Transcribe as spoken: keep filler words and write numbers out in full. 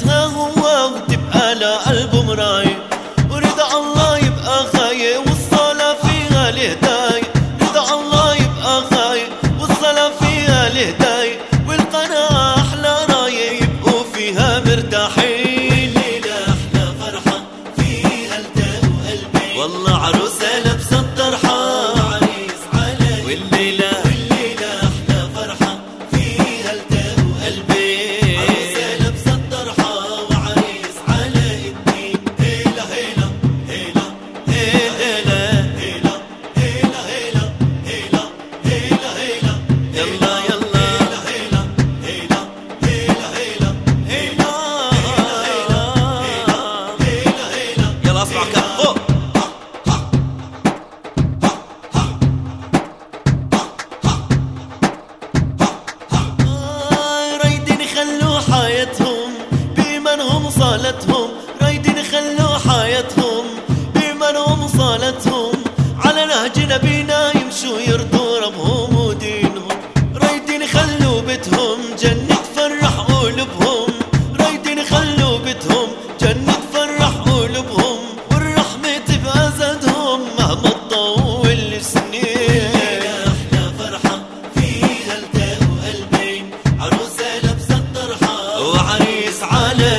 يلبسها هو وتبقى لقلب مراي، ورضا الله يبقى غاية والصلاة فيها الهداية، رضا الله يبقى غاية والصلاة فيها الهداية، والقناعة أحلى راية يبقوا فيها مرتاحين. ليلة أحلى فرحة فيها التاء وقلبي، والله عروسة لابسة الطرحة وعريس على والليلة والليلة أحلى فرحة فيها التاء وقلبي، عروسة لابسة الطرحة وعريس على الدين. هيلا هيلا هيلا هيلا هيلا هيلا هيلا هيلا هيلا هيلا يلا يلا هيلا هيلا هيلا هيلا هيلا هيلا هيلا يلا اسمع كفو. رايدين يخلوا حياتهم بإيمانهم صالتهم، رايدين يخلوا حياتهم بإيمانهم صالتهم، على نهج نبينا يمشوا يرضوا ربهم ودينهم، رايدين يخلوا بيتهم جنة تفرح قلوبهم، رايدين يخلوا بيتهم جنة تفرح قلوبهم، والرحمة تبقى زادهم مهما تطول السنين. أحلى فرحة فيها التاء وقلبين، عروسة لابسة الطرحة وعريس على